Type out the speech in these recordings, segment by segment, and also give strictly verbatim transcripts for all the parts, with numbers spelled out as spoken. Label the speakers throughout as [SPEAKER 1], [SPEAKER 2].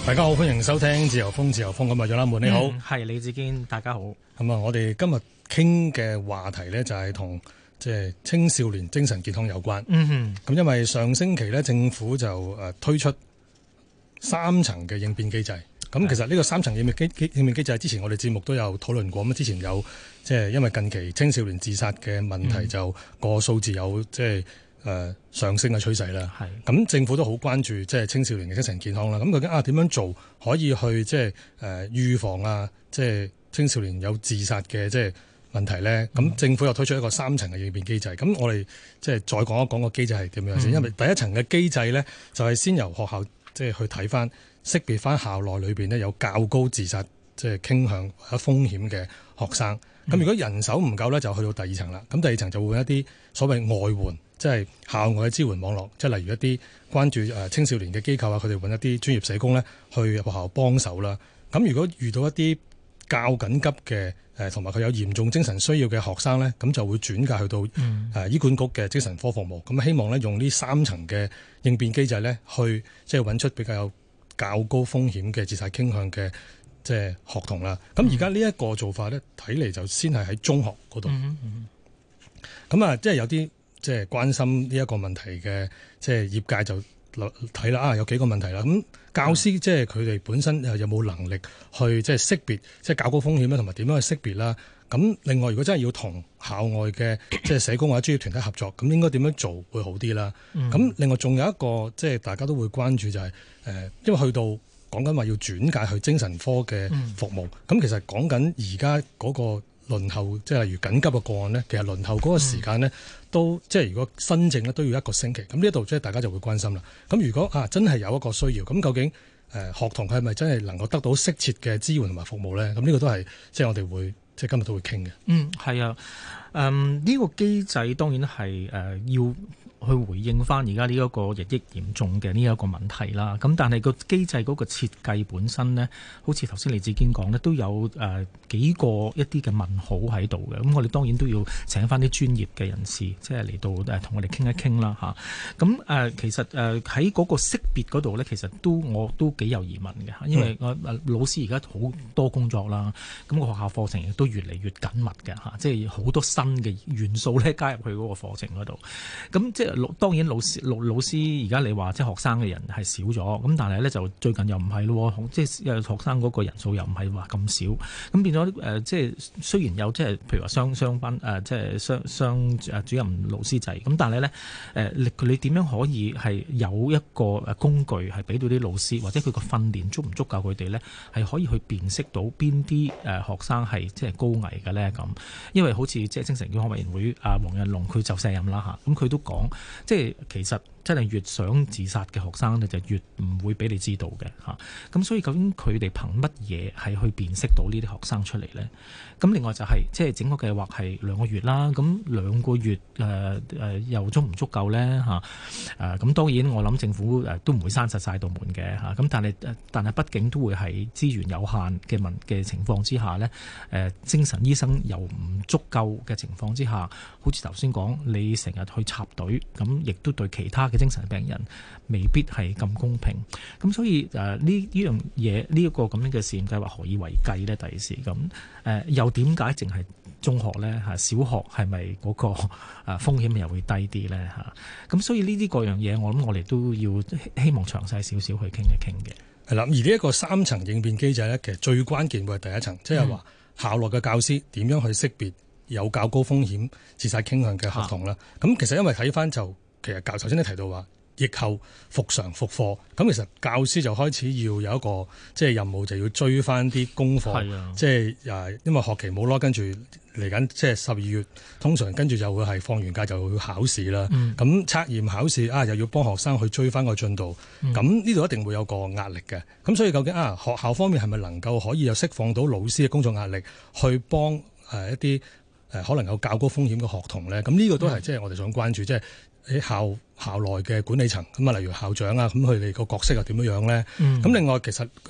[SPEAKER 1] 大家好，歡迎收聽自由風自由風。咁啊，楊立門你好，
[SPEAKER 2] 係、嗯、李志堅，大家好。
[SPEAKER 1] 咁啊，我哋今日傾嘅話題呢，就係同即係青少年精神健康有關。
[SPEAKER 2] 嗯哼。咁
[SPEAKER 1] 因為上星期呢，政府就誒推出三層嘅應變機制。咁其實呢個三層應變機應變機制之前我哋節目都有討論過。咁之前有即係因為近期青少年自殺嘅問題，就個數字有即係誒上升嘅趨勢啦。係。咁政府都好關注即係青少年嘅精神健康啦。咁究竟啊點樣做可以去即係誒預防啊即係青少年有自殺嘅即係問題咧？咁、嗯、政府又推出一個三層嘅應變機制。咁我哋即係再講一講個機制係點樣先、嗯。因為第一層嘅機制咧，就係先由學校即係去睇翻。識別翻校內裏邊呢有較高自殺即係傾向或者風險嘅學生。咁、嗯、如果人手唔夠呢，就去到第二層啦。咁第二層就會一啲所謂外援，即係校外嘅支援網絡，即係例如一啲關注誒青少年嘅機構啊，佢哋揾一啲專業社工呢去學校幫手啦。咁如果遇到一啲較緊急嘅誒同埋佢有嚴重精神需要嘅學生呢，咁就會轉介去到誒醫管局嘅精神科服務。咁希望呢，用呢三層嘅應變機制呢，去即係揾出比較有較高風險嘅自殺傾向嘅即係學童啦。咁而家呢一個做法咧，睇嚟就先係喺中學嗰度。咁、嗯、啊，即係有啲即係關心呢一個問題嘅，即係業界就睇啦。啊，有幾個問題啦。咁教師即係佢哋本身有冇能力去即係識別即係較高風險咧，同埋點樣去識別啦？咁另外，如果真係要同校外嘅即係社工或者專業團體合作，咁應該點樣做會好啲啦？咁、嗯、另外仲有一個即係大家都會關注就係、是、誒，因為去到講緊話要轉介去精神科嘅服務，咁、嗯、其實講緊而家嗰個輪候，即係例如緊急嘅個案呢，其實輪候嗰個時間呢，嗯、都即係如果新症呢都要一個星期。咁呢一度即係大家就會關心啦。咁如果啊真係有一個需要，咁究竟誒學童佢係咪真係能夠得到適切嘅支援同埋服務咧？咁呢個都係即係我哋會。即係今日都會傾嘅。嗯，
[SPEAKER 2] 係啊。誒、嗯，呢、這個機制當然係誒、呃、要去回應翻而家呢一個日益嚴重嘅呢一個問題啦。咁但係個機制嗰個設計本身呢，好似頭先李志堅講呢，都有誒、呃、幾個一啲嘅問號喺度嘅。咁我哋當然都要請翻啲專業嘅人士，即係嚟到誒同我哋傾一傾啦嚇。咁、啊、誒其實誒喺嗰個識別嗰度呢，其實都我都幾有疑問嘅，因為我誒老師而家好多工作啦，咁、那個學校課程亦都越嚟越緊密嘅嚇，即係好多新嘅元素咧加入去嗰個課程嗰度。咁即係老當然老師老老師而家你話即係學生嘅人係少咗，咁但係咧就最近又唔係咯，即係學生嗰個人數又唔係話咁少，咁變咗誒即係雖然有即係譬如話雙雙班誒即係雙雙誒主任老師制，咁但係咧誒你你點樣可以係有一個誒工具係俾到啲老師或者佢個訓練足唔足夠佢哋咧係可以去辨識到邊啲誒學生係即係高危嘅咧咁？因為好似即係精神健康委員會啊黃日龍佢就卸任啦嚇，咁佢都講即係其實真係越想自殺嘅學生咧就越唔會俾你知道嘅嚇，咁所以究竟佢哋憑乜嘢係去辨識到呢啲學生出嚟咧？咁另外就係、是、即係整個計劃係兩個月啦，咁兩個月誒誒、呃、又足唔足夠咧嚇？誒咁當然我諗政府誒都唔會閂實晒道門嘅嚇，咁但係但係畢竟都會係資源有限嘅問嘅情況之下咧，誒、呃、精神醫生又唔足夠嘅情況之下，好似頭先講，你成日去插隊，咁亦都對其他嘅精神病人未必係咁公平。咁所以誒呢呢樣嘢呢一個咁樣嘅試驗計劃何以為繼咧？第時咁誒又點解淨係中學咧嚇？小學係咪嗰個誒風險又會低啲咧嚇？咁所以呢啲各樣嘢，我諗我哋都要希望詳細少少去傾一傾嘅。
[SPEAKER 1] 係啦，而呢一個三層應變機制咧，其實最關鍵會係第一層，即係話校內嘅教師點樣去識別有較高風險自殺傾向嘅學童啦。咁、啊、其實因為睇翻就其實教頭先你提到話疫後復常復課，咁其實教師就開始要有一個即係任務，就要追翻啲功課，即係誒，因為學期冇咯，跟住嚟緊即係十二月，通常跟住就會係放完假就會考試啦。咁、嗯、測驗考試啊，又要幫學生去追翻個進度，咁呢度一定會有個壓力嘅。咁所以究竟啊，學校方面係咪能夠可以有釋放到老師嘅工作壓力，去幫誒、呃、一啲誒可能有較高風險嘅學童咧？咁呢個都係即係我哋想關注，即係喺校校內嘅管理層咁啊，例如校長啊，咁佢哋個角色又點樣樣咧？咁、嗯、另外其實誒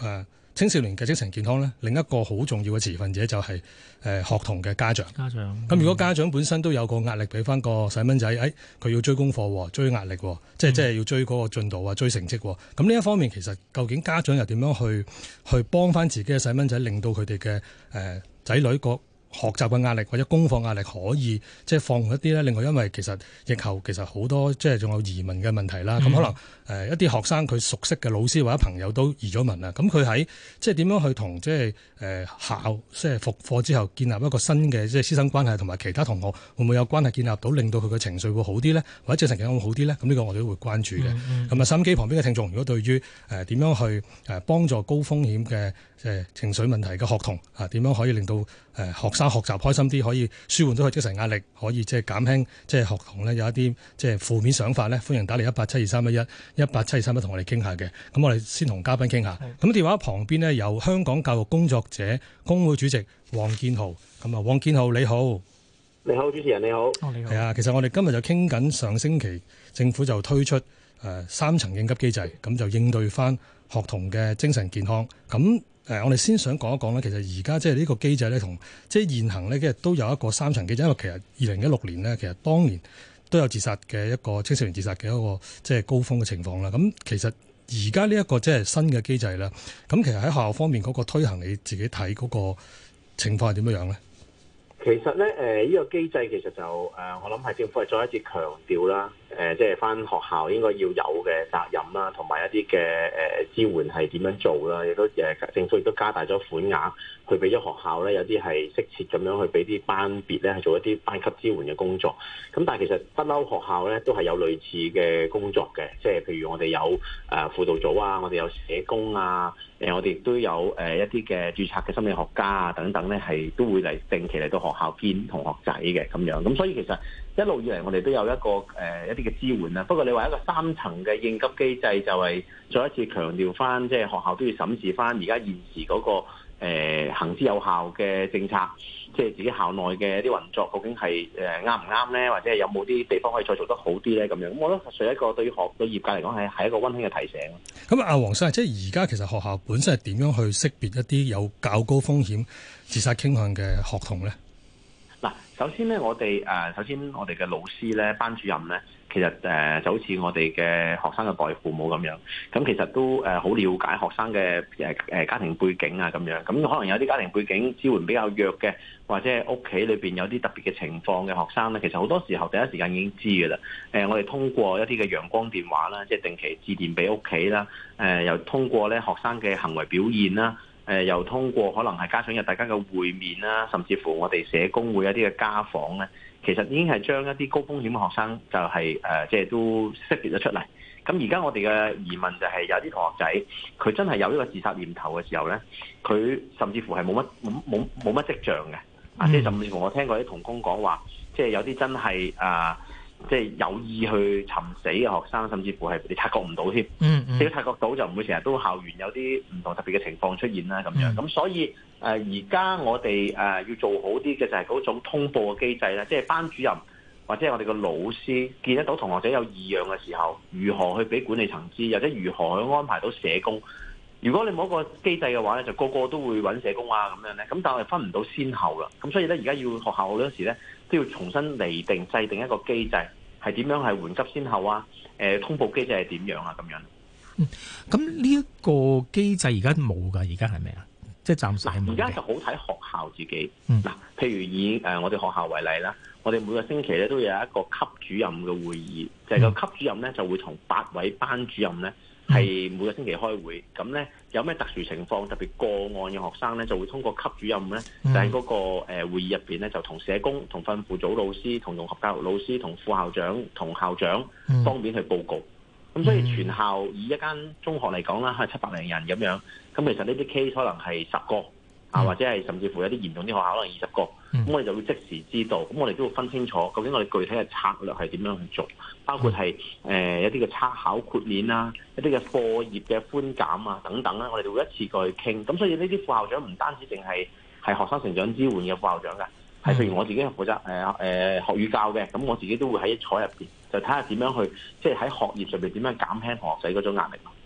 [SPEAKER 1] 青少年嘅精神健康咧，另一個好重要嘅持份者就係、是、誒、呃、學童嘅家長。
[SPEAKER 2] 家長
[SPEAKER 1] 咁如果家長本身都有個壓力俾翻個細蚊仔，誒、哎、佢要追功課，追壓力，即係即係要追嗰個進度啊，追成績。咁呢一方面其實究竟家長又點樣去去幫翻自己嘅細蚊仔，令到佢哋嘅誒仔女個學習嘅壓力或者功課壓力可以即係放緩一啲咧？另外因為其實疫後其實好多即係仲有移民嘅問題啦，咁、嗯、可能誒、呃、一啲學生佢熟悉嘅老師或者朋友都移咗民啦，咁佢喺即係點樣去同即係誒校即係復課之後建立一個新嘅即係師生關係，同埋其他同學會唔會有關係建立到，令到佢嘅情緒會好啲咧，或者精神健康會好啲咧？咁呢個我哋都會關注嘅。咁、嗯、啊，收音機旁邊嘅聽眾，如果對於誒點樣去誒幫助高風險嘅誒情緒問題嘅學童啊，點樣可以令到誒學生學習開心啲，可以舒緩到佢精神壓力，可以即係減輕即係學童咧有一啲即係負面想法咧，歡迎打嚟一八七二三一一一八七二三一同我哋傾下嘅。咁我哋先同嘉賓傾下。咁電話旁邊呢，有香港教育工作者工會主席黃建豪。咁啊，黃建豪你好。
[SPEAKER 3] 你好，主持人你好。
[SPEAKER 2] 哦，你好。
[SPEAKER 1] 係啊，其實我哋今日就傾緊上星期政府就推出誒、呃、三層應急機制，咁就應對翻學童嘅精神健康。咁誒、呃，我哋先想講一講咧，其實而家即係呢個機制咧，同即係現行咧，其實都有一個三層機制。因為其實二零一六年咧，其實當年都有自殺嘅一個青少年自殺嘅一個即係高峰嘅情況啦。咁其實而家呢一個即係新嘅機制啦，咁其實喺學校方面嗰個推行，你自己睇嗰個情況係點樣樣咧？
[SPEAKER 3] 其實咧，誒、呃、呢、這個機制其實就誒、呃，我諗係政府係再一次強調啦，誒、呃，即係翻學校應該要有嘅責任啦，同埋一啲嘅誒支援係點樣做啦，亦都誒政府亦都加大咗款額，去俾咗學校咧有啲係適切咁樣去俾啲班別咧係做一啲班級支援嘅工作。咁但係其實不嬲學校咧都係有類似嘅工作嘅，即係譬如我哋有誒、呃、輔導組啊，我哋有社工啊，誒、呃、我哋亦都有誒、呃、一啲嘅註冊嘅心理學家啊等等咧，係都會嚟定期嚟到學校見同學仔嘅咁樣。咁所以其實一路以嚟我哋都有一個誒、呃、一啲嘅支援啦。不過你話一個三層嘅應急機制就係再一次強調翻，即係學校都要審視翻而家現時嗰、那個。誒、呃、行之有效嘅政策，即係自己校內嘅一啲運作，究竟係誒啱唔啱咧？或者係有冇啲地方可以再做得好啲咧？咁樣，咁我覺得實在一個對於學對業界嚟講係係一個溫馨嘅提醒。
[SPEAKER 1] 咁阿黃生，即係而家其實學校本身係點樣去識別一啲有較高風險自殺傾向嘅學童咧？
[SPEAKER 3] 嗱，首先咧，我哋誒首先我哋嘅老師咧、班主任咧。其實誒就好似我哋嘅學生嘅代父母咁樣，咁其實都誒好了解學生嘅誒誒家庭背景啊咁樣，咁可能有啲家庭背景支援比較弱嘅，或者係屋企裏邊有啲特別嘅情況嘅學生咧，其實好多時候第一時間已經知嘅啦。誒，我哋通過一啲嘅陽光電話啦，即係定期致電俾屋企啦，誒又通過咧學生嘅行為表現啦。誒又通過可能係家長日大家嘅會面啦，甚至乎我哋社工會一啲嘅家訪咧，其實已經係將一啲高風險嘅學生就係、是、誒、呃、即係都識別咗出嚟。咁而家我哋嘅疑問就係有啲同學仔佢真係有呢個自殺念頭嘅時候咧，佢甚至乎係冇乜冇冇冇乜跡象嘅，啊、嗯、即係甚至乎我聽過啲同工講話，即係有啲真係啊。呃即係有意去尋死嘅學生，甚至乎係你察覺唔到添。嗯嗯，你察覺到就唔會成日都校園有啲唔同特別嘅情況出現啦。咁樣咁、嗯、所以誒，而、呃、家我哋誒、呃、要做好啲嘅就係嗰種通報嘅機制啦。即係班主任或者係我哋嘅老師見得到同學仔有異樣嘅時候，如何去俾管理層知，或者如何去安排到社工。如果你冇一個機制嘅話咧，就個個都會揾社工啊咁樣咧。咁但係分唔到先後啦。咁所以咧，而家要學校好多時咧都要重新釐定、制定一個機制，係點樣係緩急先後啊？誒、呃，通報機制係點樣啊？咁樣。
[SPEAKER 2] 嗯，咁呢一個機制而家冇㗎，而家係咪啊？即係暫時係冇。
[SPEAKER 3] 而家就好睇學校自己。
[SPEAKER 2] 嗯。
[SPEAKER 3] 嗱，譬如以誒、呃、我哋學校為例啦，我哋每個星期咧都有一個級主任嘅會議，就係、是、個級主任咧就會同八位班主任咧。係每個星期開會，咁咧有咩特殊情況，特別個案嘅學生咧，就會通過級主任咧，就喺嗰個誒會議入邊咧，就同社工、同訓輔組老師、同融合教育老師、同副校長、同校長方面去報告。咁所以全校以一間中學嚟講啦，係七百零人咁樣。咁其實呢啲 case 可能係十個啊，或者係甚至乎有啲嚴重啲學校可能二十個。咁我哋就會即時知道，咁我哋都要分清楚，究竟我哋具體嘅策略係點樣去做，包括係誒、呃、一啲嘅測考豁免啦，一啲嘅課業嘅寬減啊等等啦，我哋就會一次過去傾。咁所以呢啲副校長唔單止淨係係學生成長支援嘅副校長㗎，係譬如我自己係負責誒誒、呃呃、學語教嘅，咁我自己都會喺坐入邊，就睇下點樣去即係喺學業上邊點樣減輕學仔嗰種壓力。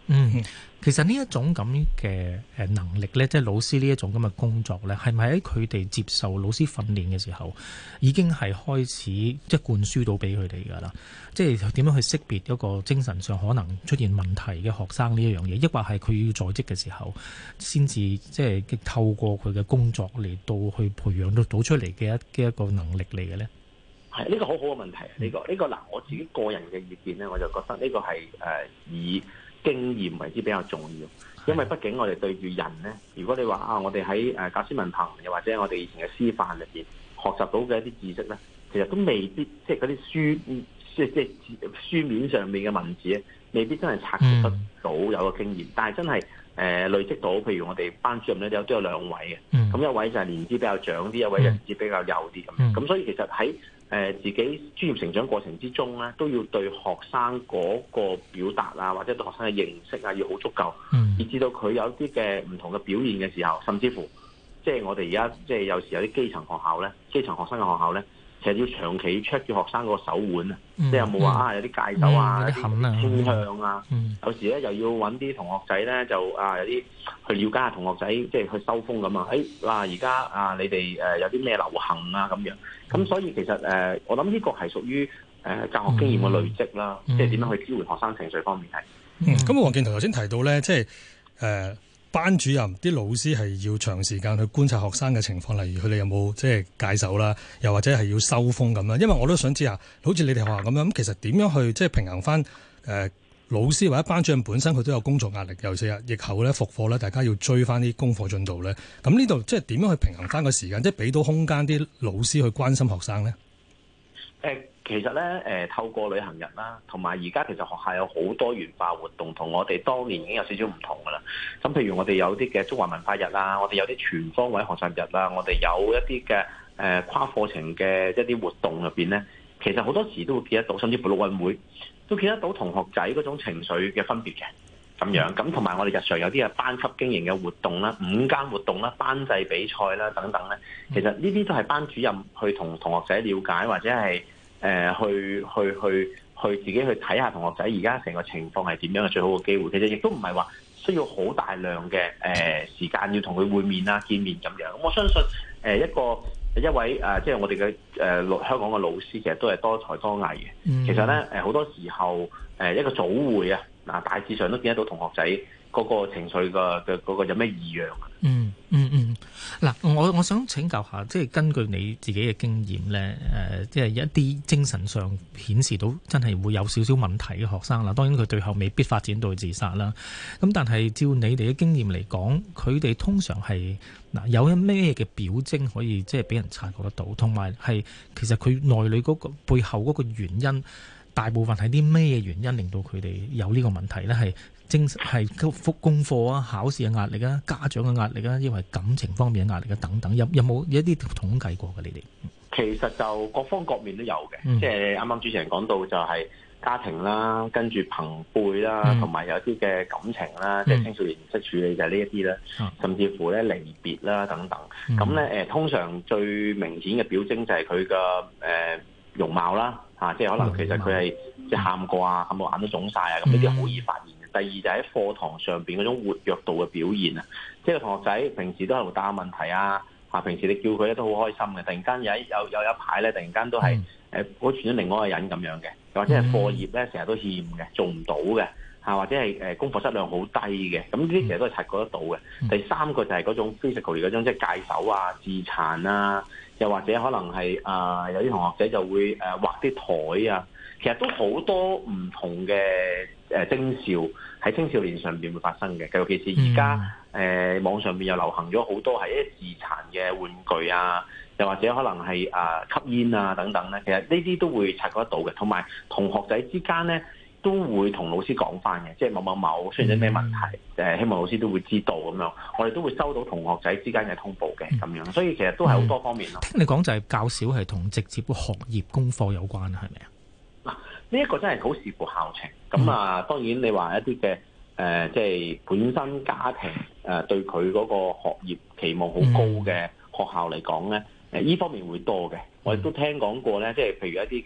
[SPEAKER 2] 嗯，其實呢一種咁嘅誒能力咧，即係老師呢一種咁嘅工作咧，係咪喺佢哋接受老師訓練嘅時候，已經係開始即係灌輸到俾佢哋㗎啦？即係點樣去識別一個精神上可能出現問題嘅學生呢一樣嘢，抑或係佢要在職嘅時候，先至即係透過佢嘅工作嚟到去培養到到出嚟嘅一嘅一個能力嚟嘅咧？
[SPEAKER 3] 係呢個好好嘅問題，呢個呢個嗱，我自己個人嘅意見咧，我就覺得呢個係誒以經驗為之比較重要，因為畢竟我哋對住人咧，如果你話啊，我哋喺誒教師文憑又或者我哋以前嘅師範入邊學習到嘅一啲知識咧，其實都未必即係嗰啲書即係即係書面上面嘅文字咧，未必真係察覺得到有個經驗，嗯、但係真係誒、呃、累積到，譬如我哋班主任咧有都有兩位嘅，咁、嗯、一位就係年資比較長啲，一位年資比較幼啲咁，咁、嗯、所以其實喺誒、呃、自己專業成長過程之中咧，都要對學生嗰個表達啊，或者對學生嘅認識啊，要好足夠，嗯、以至到佢有啲嘅唔同嘅表現嘅時候，甚至乎即係我哋而家即係有時有啲基層學校咧，基層學生嘅學校咧，其實要長期 check 住學生個手腕啊，嗯、即係有冇話啊有啲戒手啊，有啲傾向啊，嗯、有時咧又要揾啲同學仔咧就啊有啲去了解下同學仔，即係去收風咁啊，誒嗱而家啊你哋誒有啲咩流行啊咁樣。咁所以其實誒、呃，我諗呢個係屬於誒教學經驗嘅累積啦，嗯、即係點樣去支援學生情緒方面係。
[SPEAKER 1] 嗯，咁黃健圖頭先提到咧，即係誒、呃、班主任啲老師係要長時間去觀察學生嘅情況，例如佢哋有冇即係戒手啦，又或者係要收風咁啦。因為我都想知下，好似你哋學校咁樣，咁其實點樣去即係平衡翻誒、呃、老師或者班主任本身佢都有工作壓力，尤其是疫後咧復課咧，大家要追翻啲功課進度咧。咁呢度即係點樣去平衡翻個時間，即係俾到空間啲老師去關心學生咧？
[SPEAKER 3] 誒，其實咧誒、呃，透過旅行日啦，同埋而家其實學校有好多元化活動，同我哋當年已經有少少唔同噶啦。咁譬如我哋有啲嘅中華文化日啦，我哋有啲全方位學習日啦，我哋有一啲嘅誒跨課程嘅一啲活動入邊咧，其實好多時都會見得到，甚至乎陸運會都見得到同學仔嗰種情緒嘅分別嘅咁樣。咁同埋我哋日常有啲嘅班級經營嘅活動啦、午間活動啦、班際比賽啦等等咧，其實呢啲都係班主任去同同學仔了解，或者係誒、呃、去去去去自己去睇下同學仔而家成個情況係點樣嘅最好嘅機會。其實亦都唔係話需要好大量嘅誒、呃、時間要同佢會面啊、見面咁樣。咁我相信誒、呃、一個。一位誒、呃，即係我哋嘅誒香港嘅老師，其實都係多才多藝嘅。嗯、其實咧誒，好多時候誒、呃、一個早會啊，嗱大致上都見得到同學仔嗰個情緒嘅嘅嗰個有咩異樣。嗯
[SPEAKER 2] 嗯嗯，嗱、嗯，我我想請教下，即係根據你自己嘅經驗咧，誒、呃，即係一啲精神上顯示到真係會有少少問題嘅學生啦。當然佢最後未必發展到自殺啦。咁但係照你哋嘅經驗嚟講，佢哋通常係嗱有一咩嘅表徵可以即係俾人察覺得到，同埋係其實佢內裏嗰個背後嗰個原因，大部分係啲咩原因令到佢哋有呢個問題咧？係精神係復功課啊、考試嘅壓力啊、家長嘅壓力啊，因為感情方面嘅壓力啊等等，有有冇一啲統計過嘅你哋？
[SPEAKER 3] 其實就各方各面都有嘅，嗯、即係啱啱主持人講到就係家庭啦，跟住朋輩啦，同埋、嗯、有啲嘅感情啦，嗯、即係青少年唔識處理就係呢一啲啦，嗯、甚至乎咧離別啦等等。咁咧誒，通常最明顯嘅表徵就係佢嘅誒容貌啦，嚇、啊，即係可能其實佢係即係喊過啊，喊到眼都腫晒啊，咁呢啲好易發現。第二就喺課堂上邊嗰種活躍度嘅表現啊，即係個同學仔平時都係會答問題啊，嚇平時你叫佢咧都好開心嘅，突然間有一有有一排咧，突然間都係誒好似咗另外一個人咁樣嘅，或者係課業咧成日都欠嘅，做唔到嘅嚇，或者係誒功課質量好低嘅，咁呢啲其實都係察覺得到嘅。第三個就係嗰種 physical 嗰種即係戒手啊、自殘啊，又或者可能係啊、呃、有啲同學仔就會誒畫啲台啊。其實都好多唔同嘅誒徵兆喺青少年上邊會發生嘅，尤其是而家誒網上邊又流行咗好多係一啲自殘嘅玩具啊，又或者可能係啊吸煙啊等等咧。其實呢啲都會察覺得到嘅，同埋同學仔之間咧都會同老師講翻嘅，即係某某某出現咗咩問題，誒希望老師都會知道咁樣。我哋都會收到同學仔之間嘅通報嘅咁樣，所以其實都係好多方面咯。
[SPEAKER 2] 聽你講就係較少係同直接學業功課有關，係咪啊？
[SPEAKER 3] 嗱，呢一個真係好視乎校情。咁啊，當然你話一啲嘅誒，即係本身家庭誒、呃、對佢嗰個學業期望好高嘅學校嚟講咧，誒、呃、依方面會多嘅。我亦都聽講過咧，即係譬如一啲嘅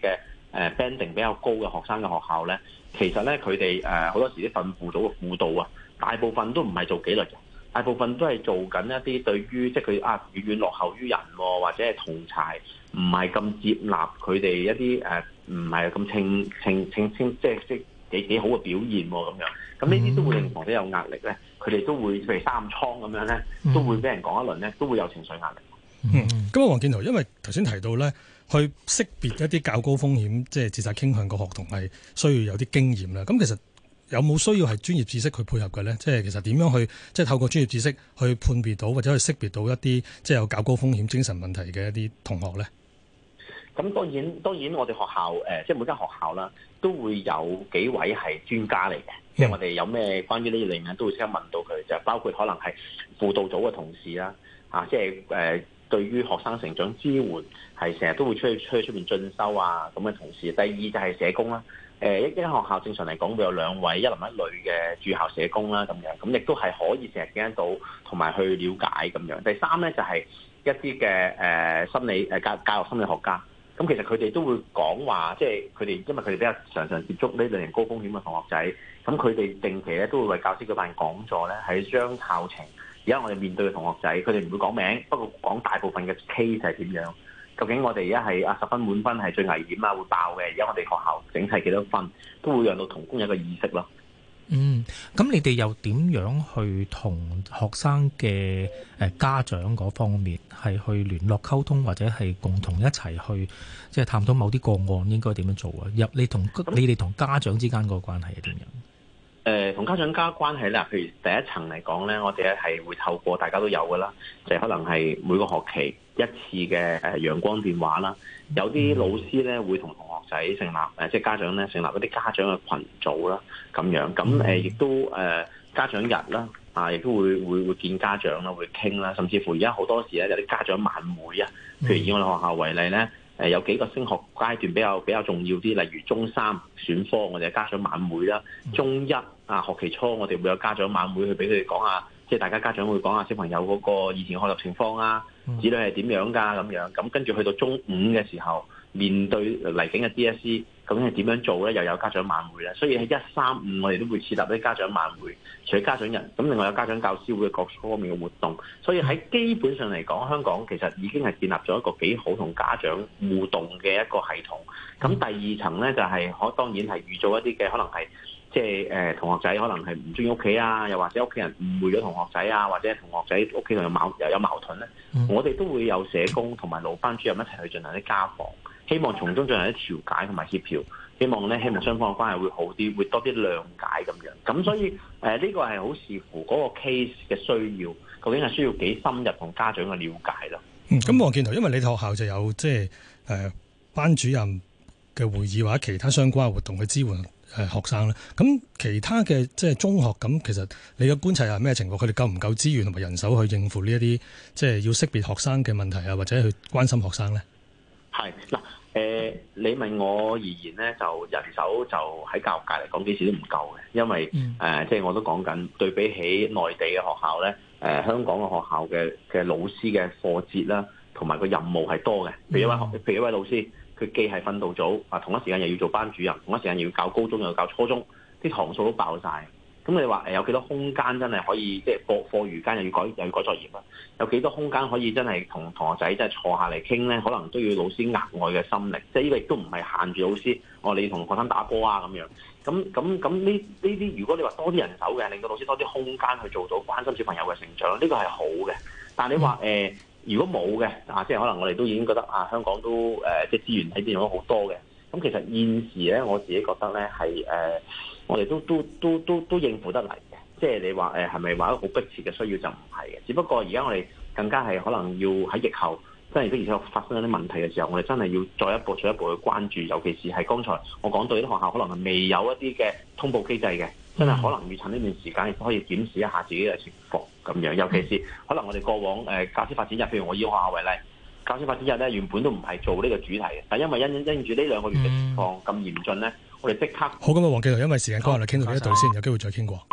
[SPEAKER 3] 誒 banding 比較高嘅學生嘅學校咧，其實咧佢哋誒好多時啲訓輔組嘅輔導啊，大部分都唔係做紀律嘅，大部分都係做緊一啲對於即係佢啊遠遠落後於人，或者係同儕唔係咁接納佢哋一啲誒唔係咁稱稱稱稱即係即係幾幾好嘅表現咁樣。咁呢啲都會令同學有壓力咧，佢哋都會譬如三暗瘡咁樣咧，都會俾人講一輪咧，都會有情緒壓力。
[SPEAKER 1] 嗯，咁啊，黃建圖，因為頭先提到咧，去識別一啲較高風險即係自殺傾向嘅學童係需要有啲經驗啦。咁其實有冇需要係專業知識去配合嘅咧？即係其實點樣去即係透過專業知識去判別到或者去識別到一啲即係有較高風險精神問題嘅一啲同學咧？
[SPEAKER 3] 咁當然當然，我哋學校誒即係每間學校啦，都會有幾位係專家嚟嘅。即係我哋有咩關於呢類嘢都會即刻問到佢，就包括可能係輔導組嘅同事啦，啊，即係誒對於學生成長支援係成日都會出去出去出邊進修啊咁嘅同事。第二就係社工啦，誒一一間學校正常嚟講會有兩位一男一女嘅駐校社工啦咁樣，咁亦都係可以成日見得到同埋去了解咁樣。第三咧就係一啲嘅誒心理誒教教育心理學家。咁其實佢哋都會講話，即係佢哋因為佢哋比較常常接觸呢類型高風險嘅同學仔，咁佢哋定期咧都會為教師舉辦講座咧，係將校情而家我哋面對嘅同學仔，佢哋唔會講名，不過講大部分嘅 case 係點樣。究竟我哋而家係啊十分滿分係最危險啊會爆嘅，而家我哋學校整體幾多分，都會讓到同工有一個意識咯。
[SPEAKER 2] 嗯，咁你哋又點樣去同學生嘅誒家長嗰方面係去聯絡溝通，或者係共同一齊去即係探討某啲個案應該點樣做啊？入你同你哋同家長之間個關係係點樣？
[SPEAKER 3] 誒同、呃、家長家關係咧，譬如第一層嚟講咧，我哋咧係會透過大家都有噶啦，就係、可能係每個學期一次嘅誒陽光電話啦。有啲老師咧會同同學仔成立誒，即係家長咧成立一啲家長嘅群組啦，咁樣咁誒，亦都誒、呃、家長日啦，啊，亦都會會會見家長啦，會傾啦，甚至乎而家好多時咧有啲家長晚會啊，譬如以我哋學校為例咧。誒有幾個升學階段比較比較重要啲，例如中三選科，我哋有家長晚會啦；中一啊學期初，我哋會有家長晚會去俾佢哋講下，即係大家家長會講下小朋友嗰個以前學習情況啊，子女係點樣㗎咁樣。咁跟住去到中五嘅時候，面對嚟緊嘅 D S E， 究竟係點樣做咧？又有家長晚會啦。所以喺一三五我哋都會設立啲家長晚會，除咗家長日，咁另外有家長教師會各方面嘅活動。所以喺基本上嚟講，香港其實已經係建立咗一個幾好同家長互動嘅一個系統。咁第二層咧就係可當然係遇到一啲嘅可能係即係誒同學仔可能係唔中意屋企啊，又或者屋企人誤會咗同學仔啊，或者同學仔屋企同有矛又有矛盾咧，嗯、我哋都會有社工同埋老班主任一齊去進行啲家訪。希望從中進行啲調解同埋協調，希望咧希望雙方嘅關係會好啲，會多啲諒解咁樣。咁所以誒呢、呃這個係好視乎嗰個 case 嘅需要，究竟係需要幾深入同家長嘅了解咯。
[SPEAKER 1] 嗯，咁黃建圖，因為你哋學校就有即係誒班主任嘅會議或者其他相關嘅活動去支援誒、呃、學生啦。咁其他嘅即係中學咁，其實你嘅觀察係咩情況？佢哋夠唔夠資源同埋人手去應付呢一啲即係要識別學生嘅問題啊，或者去關心學生咧？係
[SPEAKER 3] 嗱。誒、呃，你問我而言咧，就人手就喺教育界嚟講幾時都唔夠嘅，因為誒、嗯呃，即係我都講緊對比起內地嘅學校咧，誒、呃，香港嘅學校嘅嘅老師嘅課節啦，同埋個任務係多嘅。譬如一位學，譬如一位老師，佢既係訓導組啊，同一時間又要做班主任，同一時間又要教高中又要教初中，啲堂數都爆晒。咁你話誒有幾多空間真係可以即係課課餘間又要改又要改作業啦？有幾多空間可以真係同同學仔真係坐下嚟傾咧？可能都要老師額外嘅心力，即係呢個亦都唔係限住老師。我、哦、你同學生打波啊咁樣。咁咁咁呢呢啲，如果你話多啲人手嘅，令到老師多啲空間去做到關心小朋友嘅成長，呢、這個係好嘅。但係你話誒、呃，如果冇嘅啊，即係可能我哋都已經覺得啊，香港都誒、呃、即係資源喺邊用咗好多嘅。咁其實現時咧，我自己覺得咧係誒。我哋都都都都都應付得嚟嘅，即係你話誒係咪話一個好迫切嘅需要就唔係嘅，只不過而家我哋更加係可能要喺疫後，真係的而且確發生咗啲問題嘅時候，我哋真係要再一步再一步去關注，尤其是係剛才我講到啲學校可能係未有一啲嘅通報機制嘅，真係可能要趁呢段時間亦都可以檢視一下自己嘅情況咁樣，尤其是可能我哋過往誒、呃、教師發展日，譬如我以學校為例，教師發展日咧原本都唔係做呢個主題嘅，但因為因因住呢兩個月嘅情況咁嚴峻咧。我哋即刻
[SPEAKER 1] 好咁啊，黃建圖，因為時間關係，傾到呢一度先，有機會再傾過。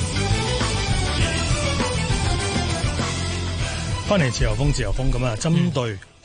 [SPEAKER 1] 翻嚟自由風，自由風咁啊，針對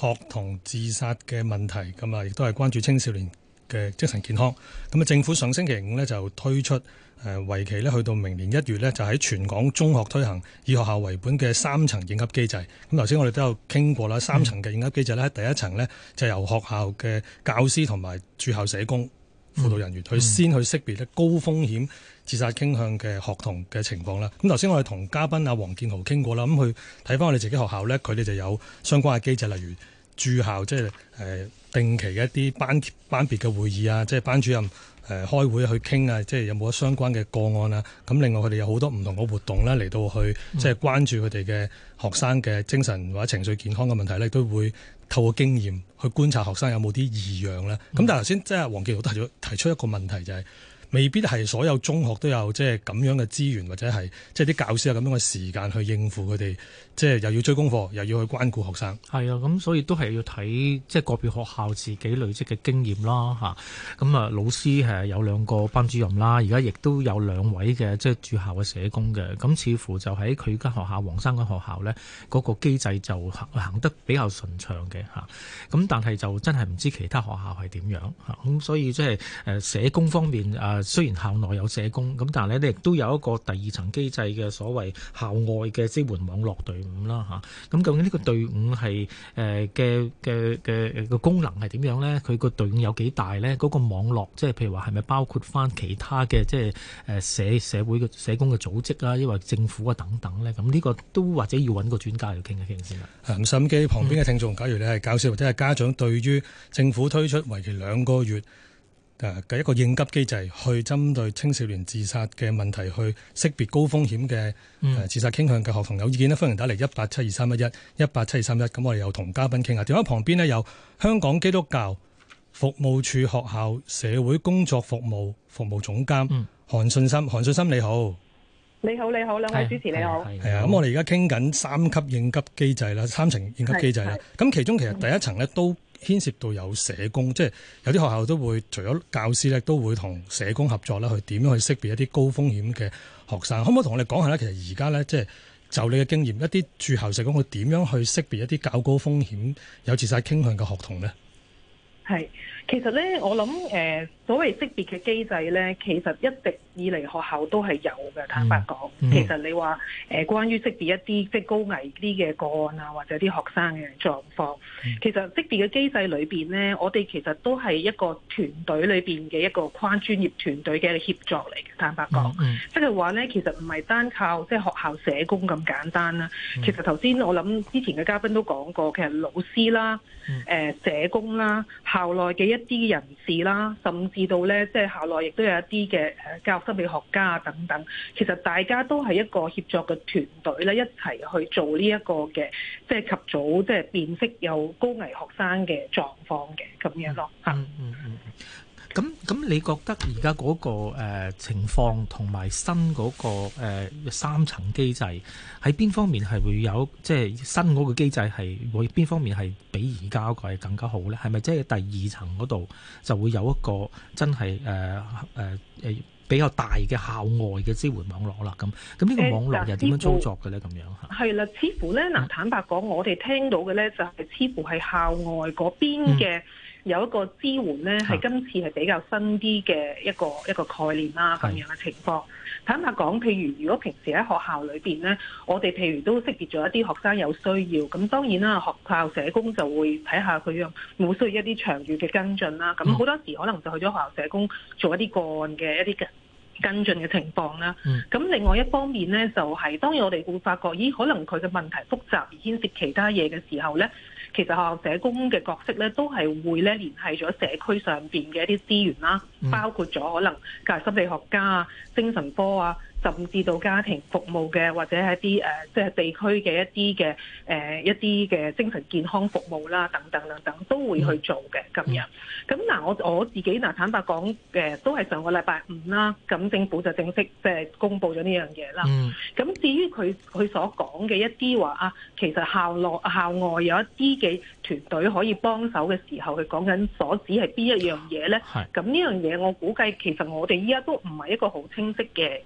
[SPEAKER 1] 學童自殺嘅問題，咁啊亦都係關注青少年嘅精神健康。咁啊，政府上星期五呢就推出誒為期呢去到明年一月呢，就喺全港中學推行以學校為本嘅三層應急機制。咁頭先我哋都有傾過啦，三層嘅應急機制呢，第一層呢就由學校嘅教師同埋駐校社工、輔導人員去先去識別咧高風險自殺傾向嘅學童嘅情況啦。咁頭先我哋同嘉賓阿黃建豪傾過啦，咁佢睇翻我哋自己學校呢，佢哋就有相關嘅機制，例如駐校即係誒定期嘅一啲班班別嘅會議啊，即係班主任誒開會去傾啊，即係有冇相關嘅個案啊。咁另外佢哋有好多唔同嘅活動啦，嚟到去即係關注佢哋嘅學生嘅精神或者情緒健康嘅問題咧，都會透過經驗去觀察學生有冇啲異樣啦。咁、嗯、但係頭先即係黃建豪都提出提出一個問題，就係、是、未必係所有中學都有即係咁樣嘅資源，或者係即係啲教師有咁樣嘅時間去應付佢哋，即係又要追功課，又要去關顧學生。
[SPEAKER 2] 係啊，咁所以都係要睇即係個別學校自己累積嘅經驗啦，嚇。咁啊，老師係有兩個班主任啦，而家亦都有兩位嘅即係駐校嘅社工嘅。咁似乎就喺佢間學校黃生間學校呢，嗰、那個機制就行行得比較順暢嘅嚇。咁但係就真係唔知其他學校係點樣嚇。咁所以即係誒社工方面誒，雖然校內有社工，咁但係咧亦都有一個第二層機制嘅所謂校外嘅支援網絡隊伍啦嚇。咁究竟呢個隊伍係誒嘅嘅嘅個功能係點樣咧？佢個隊伍有幾大咧？嗰、那個網絡即係譬如話係咪包括翻其他嘅即係誒社社會嘅社工嘅組織啊，抑或政府啊等等咧？咁呢個都或者要揾個專家嚟傾一傾先啦。咁
[SPEAKER 1] 收音機旁邊嘅聽眾，假如你係教師或者係家長，對於政府推出為期兩個月嘅一個應急機制，去針對青少年自殺嘅問題，去識別高風險嘅誒自殺傾向嘅學童有意見呢，歡迎打嚟一八七二三一一一八七二三一。咁我哋又同嘉賓傾下。電話旁邊呢，有香港基督教服務處學校社會工作服務服務總監韓信心。韓信心你好。
[SPEAKER 4] 你好，你好，兩位主持你好。
[SPEAKER 1] 係啊，咁我哋而家傾緊三級應急機制啦，三層應急機制啦。咁其中其實第一層呢都牽涉到有社工，即係有啲學校都會除咗教師咧，都會同社工合作啦，去點樣去識別一啲高風險嘅學生。可唔可以同我哋講下咧？其實而家咧，即係就你嘅經驗，一啲駐校社工佢點樣去識別一啲較高風險有自殺傾向嘅學童咧？
[SPEAKER 4] 係，其實咧，我諗誒、呃，所謂識別嘅機制咧，其實一直以嚟學校都係有嘅。坦白講，嗯、其實你話誒、呃，關於識別一啲即係高危啲嘅個案啊，或者啲學生嘅狀況，嗯、其實識別嘅機制裏邊咧，我哋其實都係一個團隊裏邊嘅一個跨專業團隊嘅協作嚟嘅。坦白講，即係話咧，其實唔係單靠即係學校社工咁簡單啦。嗯、其實頭先我諗之前嘅嘉賓都講過，其實老師啦、誒、嗯呃、社工啦。校內嘅一啲人士啦，甚至到咧，即係校內亦都有一啲嘅誒教育心理學家等等。其實大家都係一個協作嘅團隊咧，一齊去做呢一個嘅，即係及早即係辨識有高危學生嘅狀況嘅咁樣咯。嚇、嗯，嗯嗯嗯。
[SPEAKER 2] 咁咁，你覺得而家嗰個、呃、情況同埋新嗰、嗰個、呃、三層機制喺邊方面係會有，即係新嗰個機制係會邊方面係比而家嗰個係更加好咧？係咪即係第二層嗰度就會有一個真係誒誒誒比較大嘅校外嘅支援網絡啦？咁咁呢個網絡又點樣操作嘅咧？咁樣嚇係
[SPEAKER 4] 啦，似乎咧嗱，坦白講，我哋聽到嘅咧就係似乎係校外嗰邊嘅。嗯有一個支援咧，係今次係比較新啲嘅一個一個概念啦，咁樣嘅情況。坦白講，譬如如果平時喺學校裏邊咧，我哋譬如都識別咗一啲學生有需要，咁當然啦，學校社工就會睇下佢有冇需要一啲長遠嘅跟進啦。咁好多時可能就去咗學校社工做一啲個案嘅一啲嘅跟進嘅情況啦。咁、嗯、另外一方面咧，就係、是、當然我哋會發覺，咦，可能佢嘅問題複雜而牽涉其他嘢嘅時候咧。其實學校社工嘅角色咧，都係會咧聯繫咗社區上邊嘅一啲資源啦，包括咗可能教育心理學家啊、精神科啊，甚至到家庭服務嘅，或者係一啲誒，即係地區嘅一啲嘅誒一啲嘅精神健康服務啦，等等等等，都會去做嘅咁樣。咁嗱，我我自己嗱坦白講，誒都係上個禮拜五啦，咁政府就正式即係公布咗呢樣嘢啦。咁、嗯、至於佢佢所講嘅一啲話啊，其實校內校外有一啲嘅團隊可以幫手嘅時候，佢講緊所指係邊一樣嘢咧？咁呢樣嘢我估計其實我哋依家都唔係一個好清晰嘅嘅狀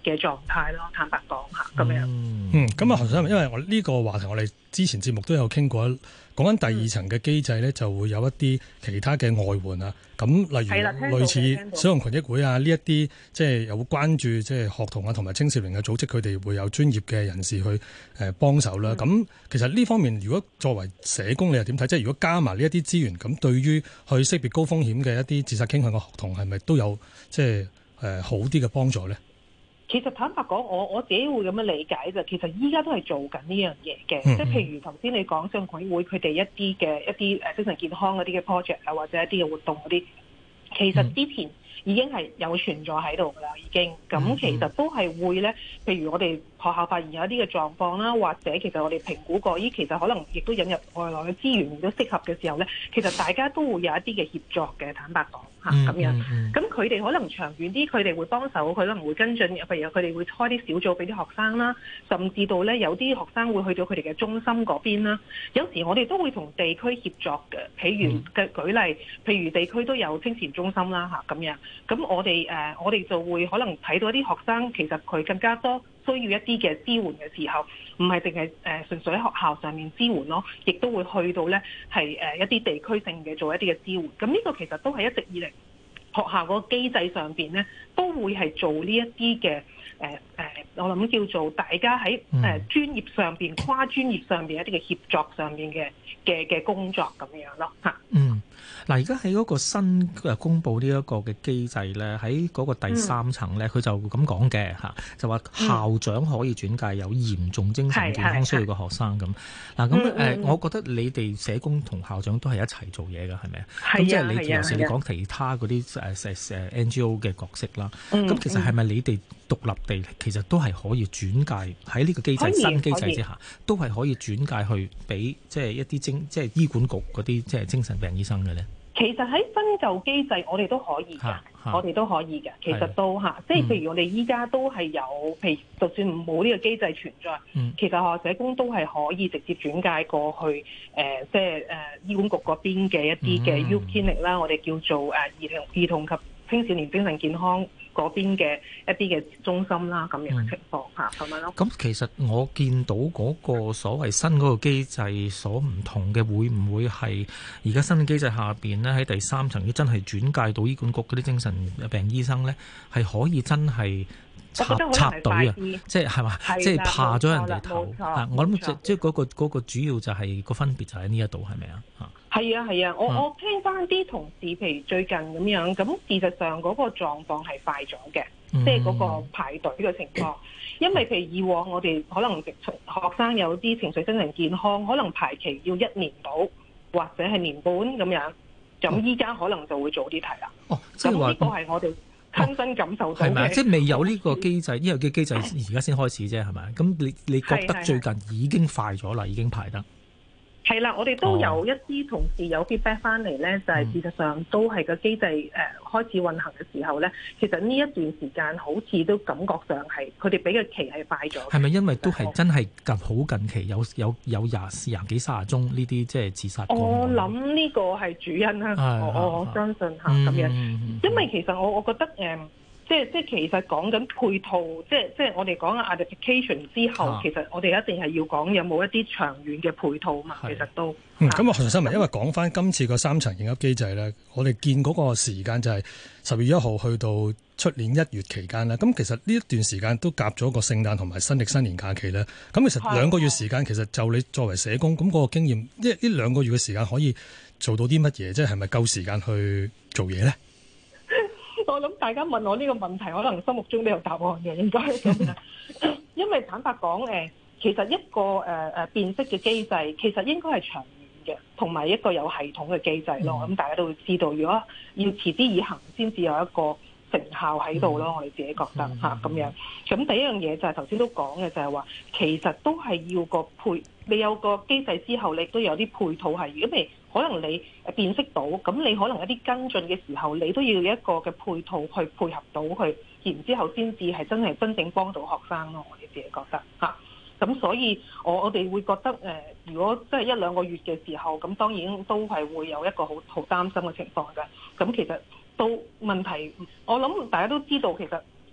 [SPEAKER 4] 態咯。坦白講嚇，咁樣。
[SPEAKER 1] 嗯，咁啊，何生，因為我呢個話題我哋之前節目都有傾過，講緊第二層嘅機制咧，就會有一啲其他嘅外援啊。咁例如類似小童群益會啊，呢一啲即係有關注即係學童啊同埋青少年嘅組織，佢哋會有專業嘅人士去誒幫手啦。咁、嗯、其實呢方面，如果作為社工，你又點睇？即係如果加埋呢一啲資源，咁對於去識別高風險嘅一啲自殺傾向嘅學童，係咪都有即係誒好啲嘅幫助咧？
[SPEAKER 4] 其實坦白講，我我自己會咁樣理解就，其實依家都係做緊呢樣嘢嘅，
[SPEAKER 1] 嗯嗯
[SPEAKER 4] 即係譬如頭先你講小童群益會佢哋一啲嘅一啲誒精神健康嗰啲嘅 project 啊，或者一啲嘅活動嗰啲，其實之前已經係有存在喺度㗎啦，已經咁其實都係會咧，譬如我哋學校發現有一啲嘅狀況啦，或者其實我哋評估過，咦，其實可能亦都引入外來嘅資源，亦都適合嘅時候咧，其實大家都會有一啲嘅協作嘅，坦白講嚇咁樣。咁佢哋可能長遠啲，佢哋會幫手，佢可能會跟進，譬如佢哋會開啲小組俾啲學生啦，甚至到咧有啲學生會去到佢哋嘅中心嗰邊啦。有時我哋都會同地區協作嘅，譬如嘅舉例，譬如地區都有青少中心啦嚇咁樣。咁我哋誒、呃、我哋就會可能睇到一啲學生，其實佢更加多需要一啲嘅支援嘅時候，唔係淨係誒純粹喺學校上面支援咯，亦都會去到咧係誒一啲地區性嘅做一啲嘅支援。咁呢個其實都係一直以嚟學校嗰個機制上邊咧，都會係做呢一啲嘅誒誒，我諗叫做大家喺誒專業上邊、跨專業上邊一啲嘅協作上面嘅嘅嘅工作咁樣咯嚇。
[SPEAKER 2] 嗯。嗱，而家喺嗰個新誒公佈呢一個嘅機制咧，喺嗰個第三層咧，佢、嗯、就咁講嘅嚇，就話校長可以轉介有嚴重精神健康需要嘅學生咁。嗱，咁誒，我覺得你哋社工同校長都係一齊做嘢㗎，係咪啊？咁即係你有時你講其他嗰啲誒誒誒 N G O 嘅角色啦。咁、嗯、其實係咪你哋獨立地其實都係可以轉介喺呢個機制新機制之下，都係可以轉介去俾即係一啲精即係醫管局嗰啲即係精神病醫生嘅咧？
[SPEAKER 4] 其實喺新舊機制，我哋都可以嘅，我哋都可以嘅。其實都嚇，即係譬如我哋依家都係有，譬如就算冇呢個機制存在，嗯、其實學校社工都係可以直接轉介過去誒、呃，即係誒、呃、醫管局嗰邊嘅一啲嘅 Youth Clinic 啦，我哋叫做誒兒童兒童及青少年精神健康嗰邊嘅一啲嘅中心啦，咁樣嘅情況嚇，咁樣咯。咁
[SPEAKER 2] 其實我見到嗰個所謂新嗰個機制所唔同嘅，會唔會係而家新嘅機制下邊呢？喺第三層要真係轉介到醫管局嗰啲精神病醫生呢，係可以真係插插隊啊！即係係嘛？即係怕咗人哋頭。我諗即即係嗰個嗰個主要就係個分別就喺呢一度，係咪啊？嚇！
[SPEAKER 4] 係啊係啊，我我聽翻啲同事，譬如最近咁樣，咁事實上嗰個狀況係快咗嘅，嗯、即係嗰個排隊嘅情況。因為譬如以往我哋可能學生有啲情緒精神健康，可能排期要一年到，或者係年半咁樣，咁依家可能就會早啲提啦。哦，即係話呢個係我哋親身感受到嘅。係咪？
[SPEAKER 2] 即係未有呢個機制，呢個嘅機制而家先開始啫，係咪？咁你你覺得最近已經快咗啦，已經排得？
[SPEAKER 4] 係啦，我哋都有一啲同事有 feedback 翻嚟咧，就係、是、事實上都係個機制誒、呃、開始運行嘅時候咧，其實呢一段時間好似都感覺上係佢哋俾嘅期係快咗。係咪因為都係真係近好近期有有有廿廿幾卅宗呢啲即係自殺？我諗呢個係主因啦，我我我相信嚇咁樣，嗯、因為其實我我覺得誒。呃即係即係其實講緊配套，即係即係我哋講嘅 identification 之後，啊、其實我哋一定係要講有冇一啲長遠嘅配套嘛。其實都
[SPEAKER 1] 嗯咁啊，何新文，因為講翻今次個三層應急機制咧，我哋見嗰個時間就係十月一號去到出年一月期間啦。咁其實呢一段時間都夾咗個聖誕同埋新歷新年假期咧。咁其實兩個月時間，其實就你作為社工咁嗰、嗰個經驗，即係呢兩個月嘅時間可以做到啲乜嘢？即係係咪夠時間去做嘢咧？
[SPEAKER 4] 我諗大家問我呢個問題，可能心目中都有答案嘅，應該咁樣。因為坦白講，誒，其實一個誒誒辨識嘅機制，其實應該係長遠嘅，同埋一個有系統嘅機制咯。咁、嗯、大家都會知道，如果要持之以恆，先至有一個成效喺度咯。嗯、我哋自己覺得嚇咁樣。咁第一樣嘢就係頭先都講嘅，就係話其實都係要個配，你有個機制之後，你都有啲配套係。如果譬如可能你辨識到，咁你可能一啲跟進嘅時候，你都要有一個嘅配套去配合到佢，然之後先至係真係真正幫到學生咯。我哋自己覺得嚇，咁、啊、所以我我哋會覺得誒、呃，如果即係一兩個月嘅時候，咁當然都係會有一個好好擔心嘅情況嘅。咁其實到問題，我諗大家都知道，其實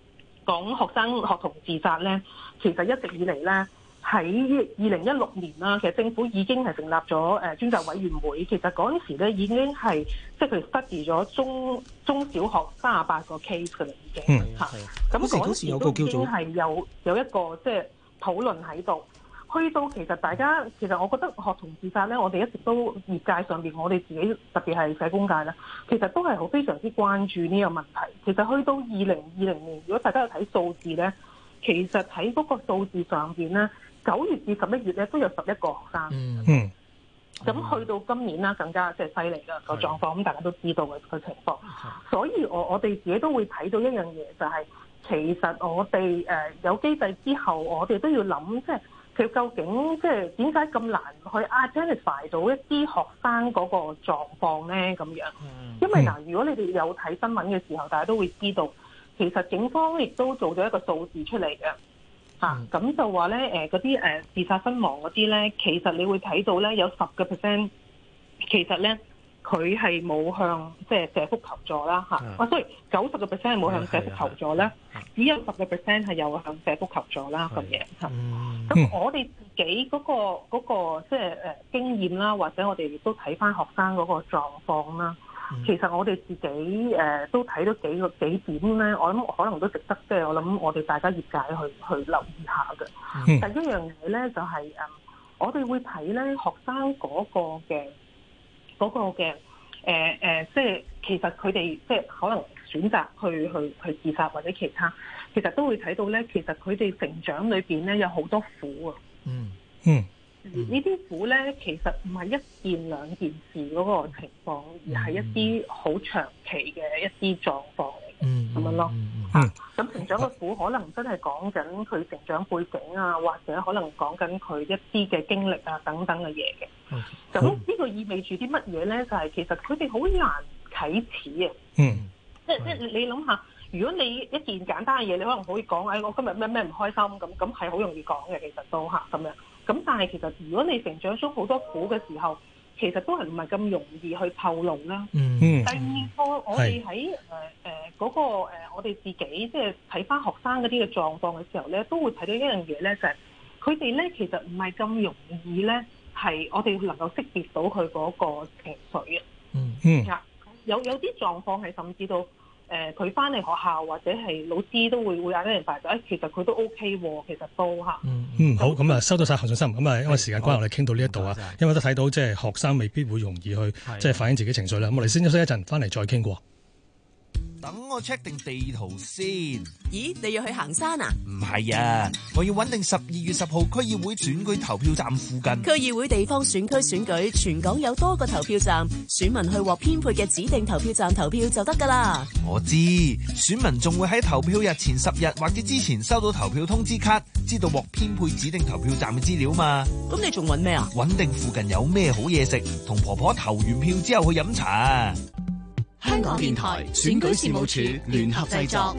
[SPEAKER 4] 講學生學童自殺咧，其實一直以嚟咧喺二零一六年啦，其實政府已經係成立咗誒專責委員會。其實嗰陣時咧已經係即係佢哋 study 咗中中小學三十八個 case 嘅啦，已經嚇。咁嗰陣時都已經係有有一個即係討論喺度。去到其實大家其實我覺得學童自殺咧，我哋一直都業界上邊，我哋自己特別係社工界咧，其實都係好非常之關注呢個問題。其實去到二零二零年，如果大家有睇數字咧，其實喺嗰個數字上邊咧，九月至十一月咧都有十一個學生。
[SPEAKER 1] 嗯。
[SPEAKER 4] 咁去到今年啦，更加即係犀利啦個狀況，咁大家都知道嘅個情況。所以我我哋自己都會睇到一樣嘢，就係、是、其實我哋誒有機制之後，我哋都要諗即係。佢究竟即係點解咁難去 identify 到一啲學生嗰個狀況咧？咁樣，因為嗱，如果你哋有睇新聞嘅時候，大家都會知道，其實警方亦都做咗一個數字出嚟嘅，嚇、嗯，咁、啊、就話咧誒嗰啲誒自殺身亡嗰啲咧，其實你會睇到咧有十個 percent，其實咧佢係冇向即係社福求助啦嚇，啊，所以九十個 percent 係冇向社福求助咧，只有十個 percent 係有向社福求助啦咁嘢嚇。咁、嗯、我哋自己嗰、嗰個嗰、嗰個即係誒經驗啦，或者我哋亦都睇翻學生嗰個狀況啦。嗯、其實我哋自己誒、呃、都睇到幾個幾點咧，我諗可能都值得即係我諗我哋大家業界去去留意下嘅。嗯、第一樣嘢咧就係、是、誒，我哋會睇咧學生嗰個嘅嗰、嗰個嘅誒誒，即係其實佢哋即係可能選擇去去去自殺或者其他。其實都會睇到咧，其實佢哋成長裏邊咧有好多苦啊。嗯嗯，呢啲苦咧其實唔係一件兩件事嗰個情況，而係一啲好長期嘅一啲狀況嚟嘅。嗯，咁樣咯。嚇、嗯，咁、啊、成長嘅苦可能真係講緊佢成長背景啊，或者可能講緊佢一啲嘅經歷啊等等嘅嘢嘅。咁呢、嗯、個意味住啲乜嘢咧？就係、是、其實佢哋好難啟齒啊。嗯，即即係你諗下。如果你一件簡單嘅嘢，你可能可以講，誒、哎，我今日咩咩唔開心，咁咁係好容易講嘅，其實都嚇咁樣。咁但係其實如果你成長中好多苦嘅時候，其實都係唔係咁容易去透露啦。嗯。第二個，我哋喺誒誒嗰個、呃、我哋自己即係睇翻學生嗰啲嘅狀況嘅時候咧，都會睇到一樣嘢咧，就係佢哋咧其實唔係咁容易咧，係我哋能夠識別到佢嗰個情緒啊。嗯嗯。有有啲狀況係甚至到。誒佢翻嚟學校或者係老師都會會嗌啲人排隊，誒其實佢都 OK 喎，其實都嚇。嗯嗯，
[SPEAKER 1] 好，咁啊收到晒何信心，咁啊因為時間關係，我哋傾到呢一度啊，因為都睇到即係學生未必會容易去即係反映自己情緒啦。咁我哋先休息一陣，翻嚟再傾過。
[SPEAKER 5] 等我 check 定地圖先。
[SPEAKER 6] 咦，你要去行山啊？
[SPEAKER 5] 唔係啊，我要揾定十二月十號區議會選舉投票站附近。
[SPEAKER 6] 區議會地方選區選舉，全港有多個投票站，選民去獲編配嘅指定投票站投票就得㗎啦。
[SPEAKER 5] 我知，選民仲會喺投票日前十日或者之前收到投票通知卡，知道獲編配指定投票站嘅資料嘛。
[SPEAKER 6] 咁你仲揾咩啊？
[SPEAKER 5] 揾定附近有咩好嘢食，同婆婆投完票之後去飲茶。
[SPEAKER 6] 香港電台選舉事務處聯合製作，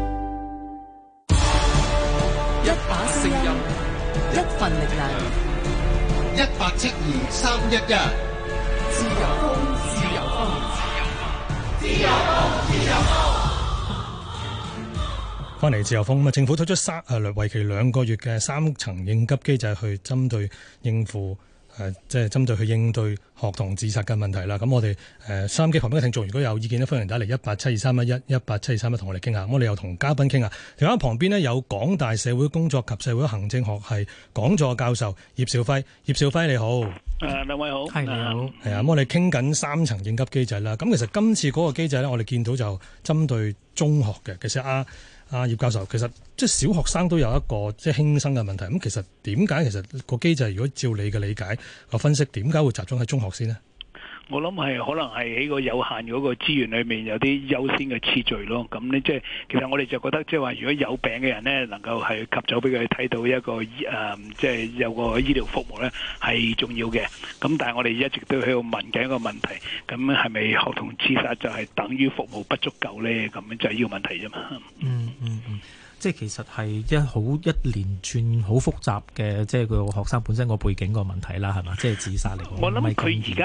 [SPEAKER 7] 一把聲音，
[SPEAKER 6] 一份力量，
[SPEAKER 7] 一八七二三一一，自由風，自由風，自由風，自由風。
[SPEAKER 1] 翻嚟自由風咁啊！政府推出三誒為期兩個月嘅三層應急機制，去針對應付。誒、呃，即係針對去應對學童自殺嘅問題啦。咁我哋誒收音機旁邊嘅聽眾，如果有意見咧，歡迎打嚟一八七二三一一一八七二三一，同我哋傾下。咁我哋又同嘉賓傾下。電話旁邊呢，有港大社會工作及社會行政學系講座教授葉兆輝。葉兆輝你好。誒、
[SPEAKER 8] 呃，兩位好。係你好。
[SPEAKER 1] 係啊，咁我哋傾緊三層應急機制啦。咁其實今次嗰個機制呢，我哋見到就針對中學嘅。其實啊。啊，葉教授，其實即係小學生都有一個即係輕生嘅問題。咁其實點解其實個機制，如果照你嘅理解個分析，點解會集中喺中學先呢？
[SPEAKER 8] 我諗係可能係喺個有限嗰個資源裏面有啲優先嘅次序咯。咁呢，即係其實我哋就覺得即係話，如果有病嘅人呢，能夠係及早俾佢睇到一個誒，即、呃、係、就是、有個醫療服務呢係重要嘅。咁但係我哋一直都喺度問緊一個問題，咁係咪學童自殺就係等於服務不足夠呢？咁就係呢個問題啫嘛。
[SPEAKER 2] 嗯嗯嗯。即係其實係一好一連串好複雜嘅，即係個學生本身個背景個問題啦，係嘛？即係自殺嚟講。
[SPEAKER 8] 我諗佢而家最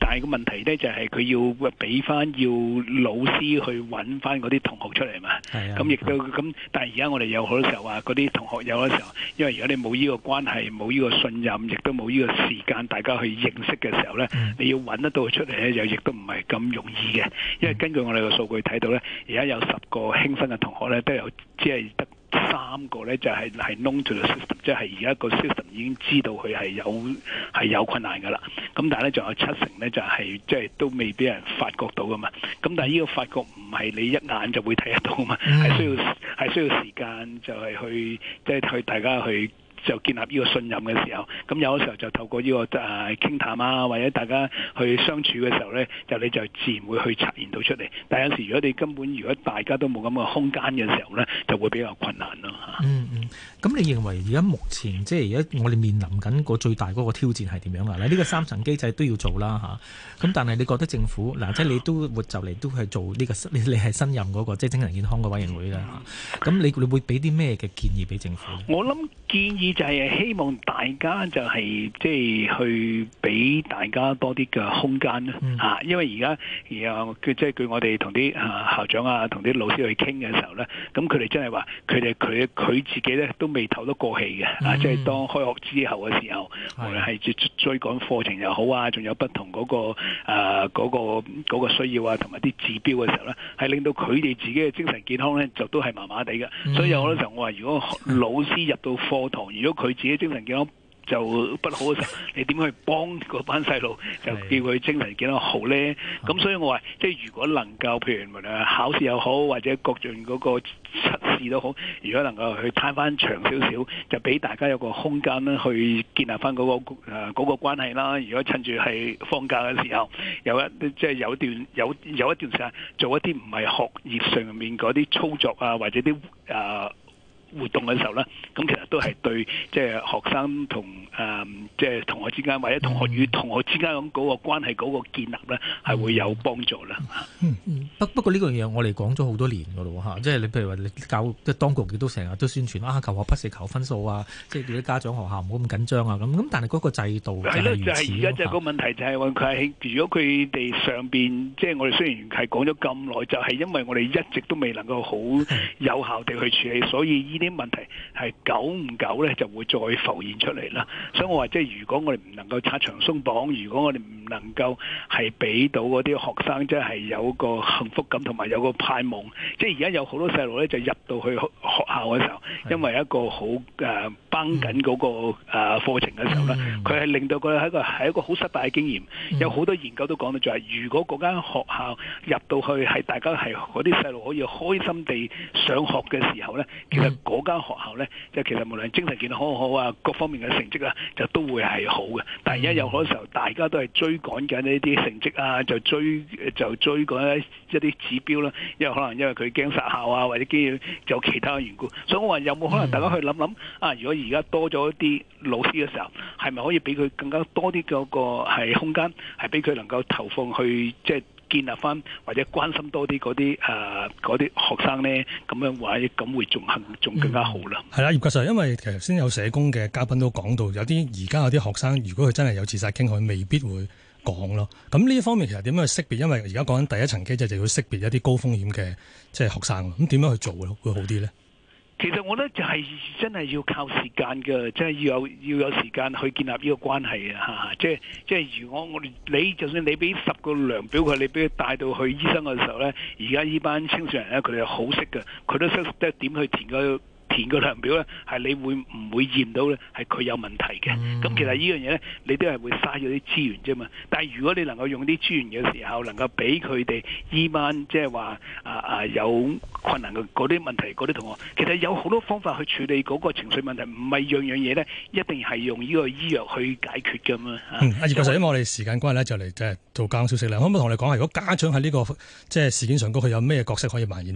[SPEAKER 8] 但係個問題咧就係佢要俾翻要老師去揾翻嗰啲同學出嚟嘛。咁亦都咁，但係而家我哋有好多時候話嗰啲同學有嘅時候，因為如果你冇呢個關係，冇呢個信任，亦都冇呢個時間，大家去認識嘅時候咧，嗯、你要揾得到佢出嚟咧，又亦都唔係咁容易嘅。因為根據我哋個數據睇到咧，而家有十個輕分嘅同學咧，都有只係得三個咧就係係 known to the system， 即係而家個 system 已經知道佢係有係有困難㗎啦。咁但係咧仲有七成咧就係即係都未俾人發覺到㗎嘛。咁但係呢個發覺唔係你一眼就會睇得到㗎嘛，係需要係需要時間就係去即係去大家去。就建立呢個信任嘅時候，咁有嘅時候就透過呢、這個誒傾、呃、談啊，或者大家去相處嘅時候咧，就你就自然會去察現到出嚟。但係有時如果你根本如果大家都冇咁嘅空間嘅時候咧，就會比較困難咯嚇。嗯嗯，
[SPEAKER 2] 咁你認為而家目前即係而家我哋面臨緊個最大嗰個挑戰係點樣啊？嗱，呢個三層機制都要做啦嚇。咁但係你覺得政府嗱，即係你都會就嚟都係做呢、這個你你係新任嗰、那個即係精神健康嘅委員會啦嚇。咁你你會俾啲咩嘅建議俾政府？
[SPEAKER 8] 我諗建議就係希望大家就係即係去俾大家多啲嘅空間啦、嗯啊、因為而家然即係據我哋同啲校長啊同啲老師去傾嘅時候咧，咁佢哋真係話佢哋佢佢自己咧都未透得過氣嘅、嗯、啊！即係當開學之後嘅時候，無論係追追趕課程又好啊，仲有不同嗰、嗰個誒嗰、呃嗰個嗰個需要啊，同埋啲指標嘅時候咧，係令到佢哋自己嘅精神健康咧就都係麻麻地嘅。嗯、所以有好多時候我話，如果老師入到課堂，如果佢自己精神健康就不好嘅時候，你點去幫嗰班細路就叫佢精神健康好咧？咁所以我話，即係如果能夠譬如無論考試又好，或者各種嗰個測試都好，如果能夠去攤翻長少少，就俾大家有個空間咧，去建立翻嗰個誒嗰個關係啦。如果趁住係放假嘅時候，有一即係有段有有一段時間做一啲唔係學業上面嗰啲操作啊，或者啲誒。呃活動嘅時候咧，咁其實都係對即係學生同誒即係同學之間，或者同學與同學之間咁嗰個關係嗰個建立咧，係會有幫助啦。
[SPEAKER 2] 嗯嗯，不不過呢個嘢我哋講咗好多年噶咯嚇，即係你譬如話你教即係當局亦都成日都宣傳啊，求學不是求分數啊，即係叫啲家長學校唔好咁緊張啊咁。咁但係嗰個制度係咯，
[SPEAKER 8] 就係而家就係個問題就係話佢係如果佢哋上邊即係我哋雖然係講咗咁耐，就係因為我哋一直都未能夠好有效地去處理，所以呢啲問題係久唔久咧就會再浮現出嚟啦。所以我話即係如果我哋唔能夠拆牆鬆綁，如果我哋唔能夠係俾到嗰啲學生即係有個幸福感同埋有個盼望，即係而家有好多細路咧就入到去學校嘅時候，因為一個好誒繃緊嗰個誒課程嘅時候咧，佢係令到佢係一個係一個好失敗嘅經驗。有好多研究都講到就係，如果嗰間學校入到去係大家係嗰啲細路可以開心地上學嘅時候咧，其實嗰間學校咧，即係其實無論精神健康好好啊，各方面嘅成績啊，就都會係好嘅。但係而家有好多時候，大家都係追趕緊呢啲成績啊，就追就追趕一啲指標啦。因為可能因為佢驚殺校啊，或者驚有其他嘅緣故。所以我話有冇可能大家去諗諗啊？如果而家多咗一啲老師嘅時候，係咪可以俾佢更加多啲嗰個係空間，係俾佢能夠投放去即係建立翻或者關心多啲嗰啲誒嗰啲學生咧，咁樣或者咁會仲行仲更加好啦。
[SPEAKER 1] 係啦、嗯，葉教授，因為其實先有社工嘅嘉賓都講到，有啲而家有啲學生，如果佢真係有自殺傾向，佢未必會講咯。咁呢一方面其實點樣去識別？因為而家講緊第一層機制就要識別一啲高風險嘅即係學生，咁點樣去做咯？會好啲咧？
[SPEAKER 8] 其實我覺得就係真係要靠時間嘅，即係要有要有時間去建立呢個關係啊！嚇，即係即係如果我哋你就算你俾十個量表佢，你俾佢帶到去醫生嘅時候咧，而家呢班青少年咧，佢哋係好識嘅，佢都識得點去填個填個量表咧，係你會唔會驗到咧？係佢有問題嘅。咁、嗯、其實呢樣嘢咧，你都係會嘥咗啲資源啫嘛。但係如果你能夠用啲資源嘅時候，能夠俾佢哋依班即係話啊啊有困難嘅嗰啲問題嗰啲同學，其實有好多方法去處理嗰個情緒問題，唔係樣樣嘢咧一定係用呢個醫藥去解決㗎嘛。
[SPEAKER 1] 嗯，阿葉教授，因為我哋時間關係咧，就嚟即係做交通消息啦。可唔可以同你講下，如果家長喺呢、這個即係事件上高，佢有咩角色可以扮演到咧？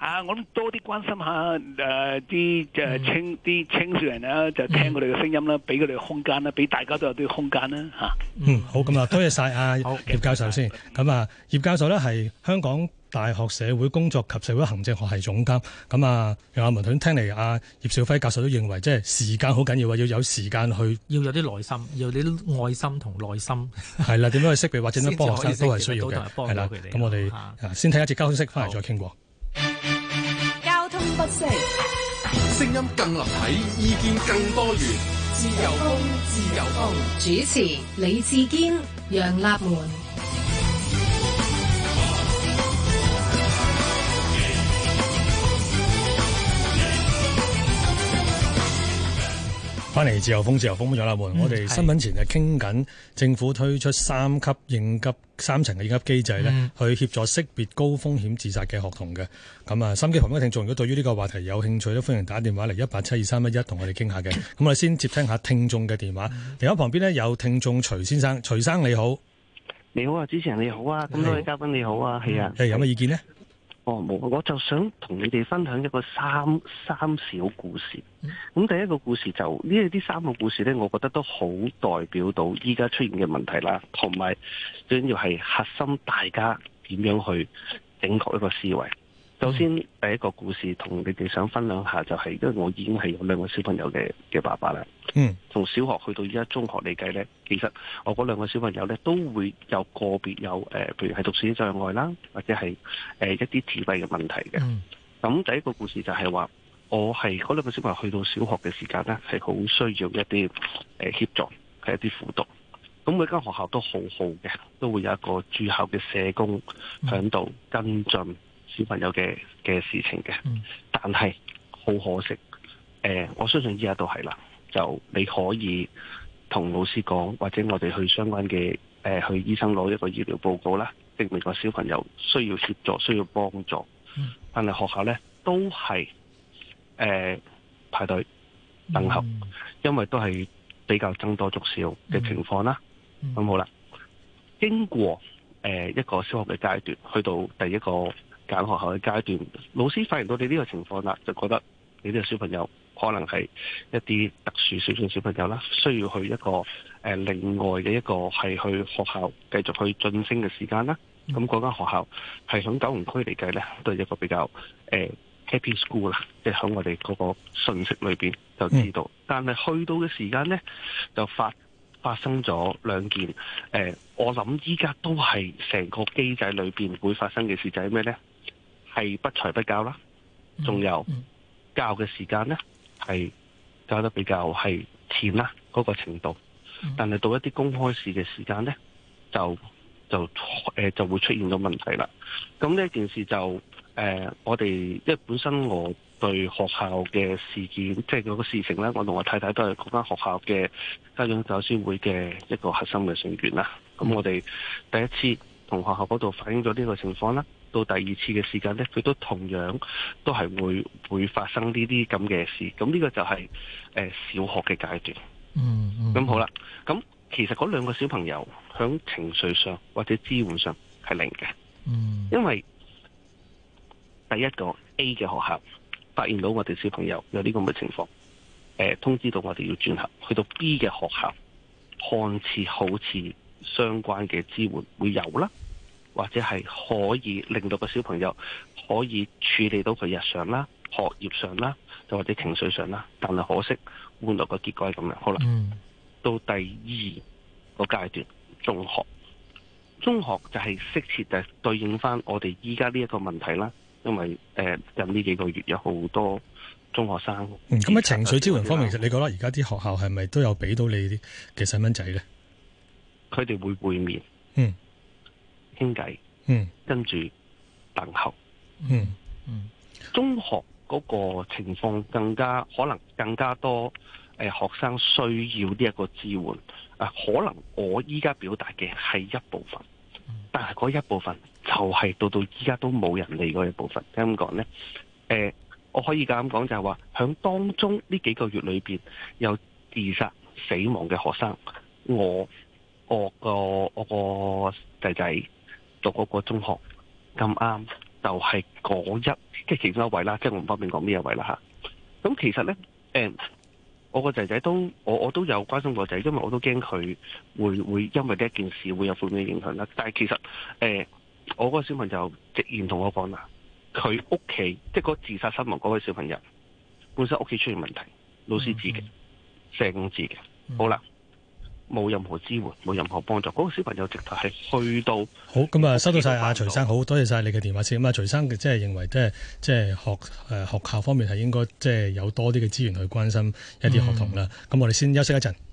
[SPEAKER 8] 啊，我諗多啲關心下誒啲誒青啲青少年啊，就聽佢哋嘅聲音啦，俾佢哋空間啦，俾大家都有啲空間啦嚇。
[SPEAKER 1] 嗯，好，咁啊，多謝晒阿葉教授先。咁啊，葉教授咧係香港大學社會工作及社會行政學系總監。咁啊，楊亞文聽嚟，阿葉兆輝教授都認為，即係時間好緊要啊，要有時間去，
[SPEAKER 2] 要有啲耐心，要有啲愛心同耐心。係
[SPEAKER 1] 啦，點樣去識別或者點樣幫學生都係需要嘅。係啦，咁我哋先睇一節交通消息，翻嚟再傾過。
[SPEAKER 6] 交通不息，
[SPEAKER 7] 聲音更立體，意見更多元。自由風，自由風。
[SPEAKER 9] 主持李志堅、楊立門。
[SPEAKER 1] 翻嚟自由風，自由風楊立門。嗯、我哋新聞前就傾緊政府推出三級應急三層嘅應急機制咧，嗯、去協助識別高風險自殺嘅學童嘅。咁啊，心機旁邊嘅聽眾如果對於呢個話題有興趣咧，歡迎打電話嚟一八七二三一一同我哋傾下嘅。咁我哋先接聽下聽眾嘅電話。電話、嗯、旁邊呢，有聽眾徐先生，徐生你好。
[SPEAKER 10] 你好啊，主持人你好啊，咁多位嘉賓你好啊，係啊。
[SPEAKER 1] 誒，有咩意見呢？
[SPEAKER 10] 哦，冇，我就想同你哋分享一個三三小故事。咁第一個故事就呢啲三個故事呢，我覺得都好代表到依家出現嘅問題啦，同埋最緊要係核心大家點樣去整確一個思維。首先第一個故事同你哋想分享下就係，因為我已經係有兩個小朋友嘅嘅爸爸啦。嗯，從小學去到依家中學嚟計呢，其實我嗰兩個小朋友呢都會有個別有誒、呃，譬如係讀書障礙啦，或者係誒、呃、一啲自閉嘅問題嘅。咁、嗯、第一個故事就係話，我係嗰兩個小朋友去到小學嘅時間呢，係好需要一啲誒、呃、協助，係一啲輔導。咁每間學校都好好嘅，都會有一個駐校嘅社工響度跟進小朋友嘅嘅事情嘅。嗯、但係好可惜，誒、呃，我相信依家都係啦。就你可以同老師講，或者我哋去相關嘅誒、呃、去醫生攞一個醫療報告啦，證明個小朋友需要協助、需要幫助。嗯、但係學校呢都係誒、呃、排隊等候，嗯、因為都係比較僧多粥少嘅情況啦。咁、嗯、好啦，經過誒、呃、一個小學嘅階段，去到第一個揀學校嘅階段，老師發現到你呢個情況啦，就覺得你呢個小朋友可能係一啲特殊少數小朋友啦，需要去一個誒、呃、另外嘅一個係去學校繼續去晉升嘅時間啦。咁嗰間學校係響九龍區嚟計咧，都係一個比較誒、呃、happy school 啦，即係響我哋嗰個信息裏邊就知道。嗯、但係去到嘅時間咧，就發發生咗兩件誒、呃，我諗依家都係成個機制裏邊會發生嘅事，就係咩咧？係不才不教啦，仲有教嘅時間咧。係教得比較係淺啦，嗰、那個程度，但係到一啲公開試嘅時間呢，就就誒、呃、就會出現咗問題啦。咁呢件事就誒、呃，我哋因為本身我對學校嘅事件，即係嗰個事情呢，我同我太太都係嗰間學校嘅家長教師會嘅一個核心嘅成員啦。咁我哋第一次同學校嗰度反映咗呢個情況啦。到第二次嘅時間呢，佢都同樣都係會會發生呢啲咁嘅事。咁呢個就係、是、誒、呃、小學嘅階段。嗯，咁、嗯、好啦。咁其實嗰兩個小朋友響情緒上或者支援上係零嘅。嗯，因為第一個 A 嘅學校發現到我哋小朋友有呢個咁嘅情況，誒、呃、通知到我哋要轉校去到 B 嘅學校，看似好似相關嘅支援會有啦。或者係可以令到個小朋友可以處理到佢日常啦、學業上啦，又或者情緒上啦。但係可惜換來個結果係咁樣。好啦，嗯、到第二個階段，中學，中學就係適切就係對應翻我哋依家呢一個問題啦。因為誒近呢幾個月有好多中學生。咁喺、
[SPEAKER 1] 嗯、情緒支援方面，其實你覺得而家啲學校係咪都有俾到你啲嘅細蚊仔咧？
[SPEAKER 10] 佢哋會會面。
[SPEAKER 1] 嗯。
[SPEAKER 10] 傾偈，
[SPEAKER 1] 嗯，
[SPEAKER 10] 跟住等候，
[SPEAKER 1] 嗯嗯，
[SPEAKER 10] 中學嗰個情況更加可能更加多，誒、呃，學生需要呢一個支援，啊、呃，可能我依家表達嘅係一部分，但係嗰一部分就係到到依家都冇人理嗰一部分，點講呢？誒、呃，我可以咁講就係話，響當中呢幾個月裏邊有自殺死亡嘅學生，我我個我個仔仔。讀嗰個中學咁啱就係嗰一即係其中一位啦，即係我唔方便講邊一位啦嚇。咁其實咧誒。呃我個仔仔都我我都有關心個仔，因為我都驚佢會會因為呢一件事會有負面嘅影響啦。但係其實誒、呃，我個小朋友直言同我講啦，佢屋企即係嗰自殺身亡嗰位小朋友本身屋企出現問題，老師知嘅，社工知嘅，好啦。冇任何支援，冇任何幫助。嗰、那個小朋友直頭係去到
[SPEAKER 1] 好咁啊！收到晒阿徐生，好多謝晒你嘅電話先。咁啊，徐生即係認為即係即係學誒、呃、學校方面係應該即係有多啲嘅資源去關心一啲學童啦。咁、嗯、我哋先休息一陣。